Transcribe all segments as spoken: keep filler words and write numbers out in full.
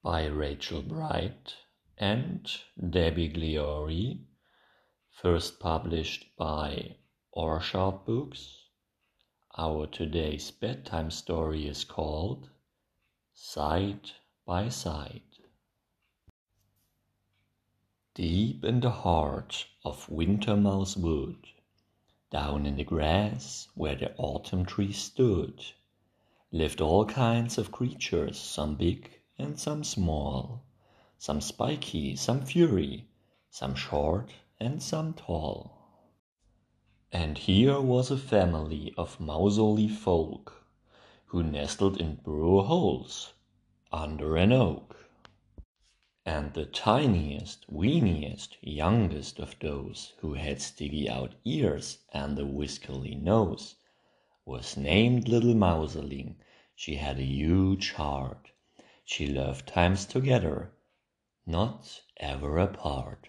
by Rachel Bright and Debbie Gliori, first published by Orchard Books. Our today's bedtime story is called Side by Side. Deep in the heart of Wintermouse Wood, down in the grass where the autumn tree stood, lived all kinds of creatures, some big and some small, some spiky, some furry, some short and some tall. And here was a family of mousily folk, who nestled in burrow holes under an oak. And the tiniest, weeniest, youngest of those who had sticky out ears and a whiskily nose was named Little Mouseling. She had a huge heart. She loved times together, not ever apart.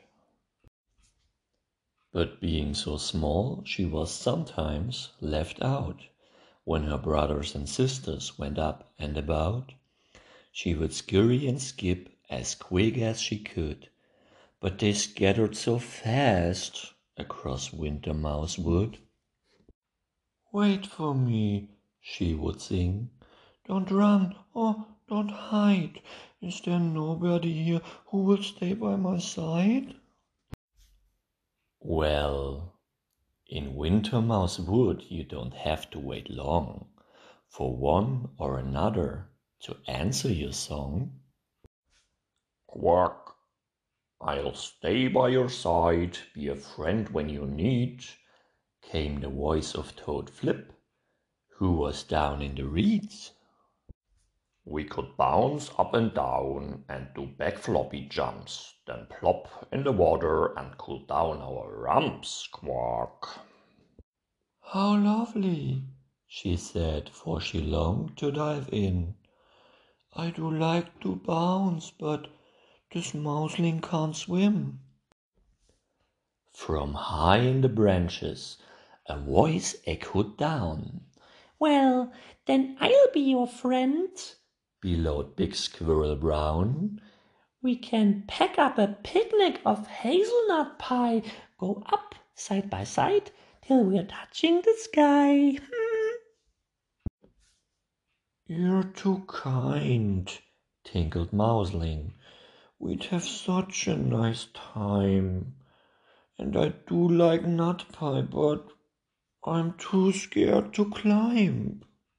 But being so small, she was sometimes left out. When her brothers and sisters went up and about, she would scurry and skip as quick as she could, but they scattered so fast across Wintermouse Wood. "Wait for me," she would sing. "Don't run, oh, don't hide. Is there nobody here who will stay by my side?" Well, in Wintermouse Wood you don't have to wait long for one or another to answer your song. "Quack, I'll stay by your side, be a friend when you need," came the voice of Toad Flip, who was down in the reeds. "We could bounce up and down and do back floppy jumps, then plop in the water and cool down our rumps, quack." "How lovely," she said, for she longed to dive in. "I do like to bounce, but this mouseling can't swim." From high in the branches a voice echoed down. "Well, then I'll be your friend," bellowed Big Squirrel Brown. "We can pack up a picnic of hazelnut pie, go up side by side till we're touching the sky." "You're too kind," tinkled Mouseling. "We'd have such a nice time. And I do like nut pie, but I'm too scared to climb."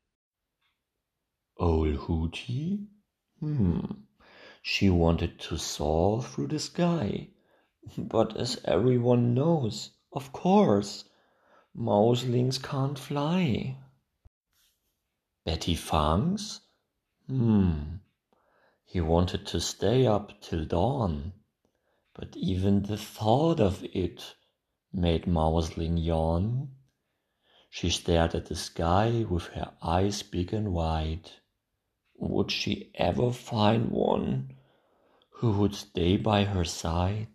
Old Hooty? Hmm, she wanted to soar through the sky. But as everyone knows, of course, mouselings can't fly. Betty Fangs? Hmm, he wanted to stay up till dawn. But even the thought of it made Mouseling yawn. She stared at the sky with her eyes big and wide. Would she ever find one who would stay by her side?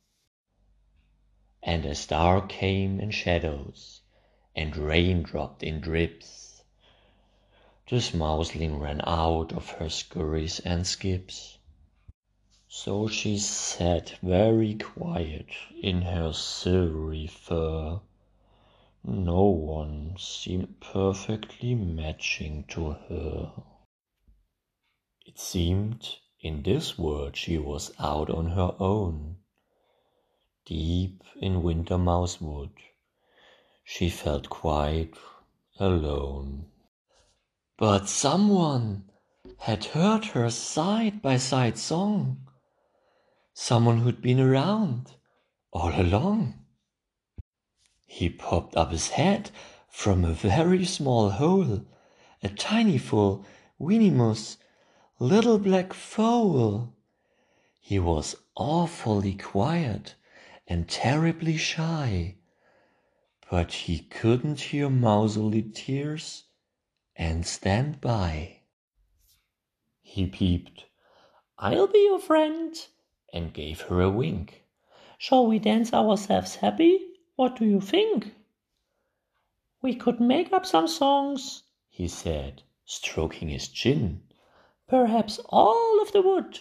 And as dark came in shadows, and rain dropped in drips, this mouseling ran out of her scurries and skips. So she sat very quiet in her silvery fur. No one seemed perfectly matching to her. It seemed in this world she was out on her own. Deep in Wintermouse Wood, she felt quite alone. But someone had heard her side-by-side song. Someone who'd been around all along. He popped up his head from a very small hole, a tiny full, weeny-mouse, little black foal. He was awfully quiet and terribly shy, but he couldn't hear mousily tears and stand by. He peeped, "I'll be your friend," and gave her a wink. "Shall we dance ourselves happy? What do you think?" "We could make up some songs," he said, stroking his chin. "Perhaps all of the wood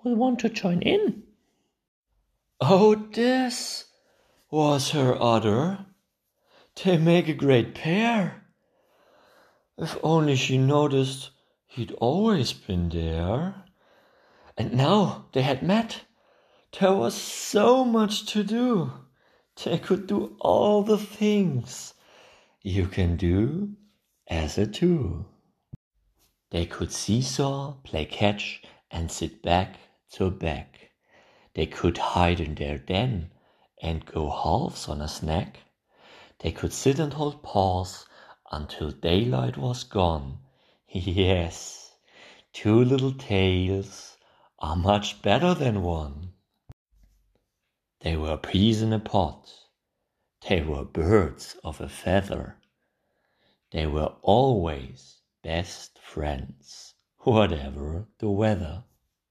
will want to join in." "Oh, this was her other. They make a great pair. If only she noticed he'd always been there. And now they had met. There was so much to do. They could do all the things you can do as a two. They could seesaw, play catch, and sit back to back. They could hide in their den and go halves on a snack. They could sit and hold paws until daylight was gone. Yes, two little tails are much better than one. They were peas in a pod. They were birds of a feather. They were always best friends, whatever the weather.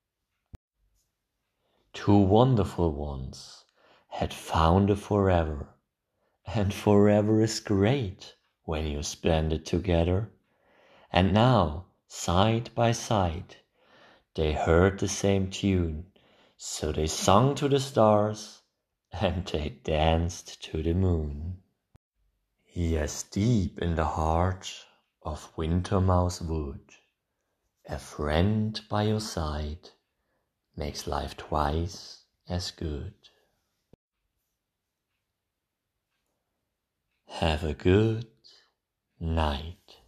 Two wonderful ones had found a forever, and forever is great when you spend it together. And now, side by side, they heard the same tune, so they sung to the stars and they danced to the moon. Yes, deep in the heart of Wintermouse Wood, a friend by your side makes life twice as good. Have a good night.